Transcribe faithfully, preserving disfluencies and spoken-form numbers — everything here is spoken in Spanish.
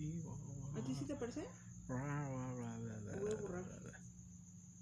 Sí, guau, guau. ¿A ti sí te parece? Guau, guau.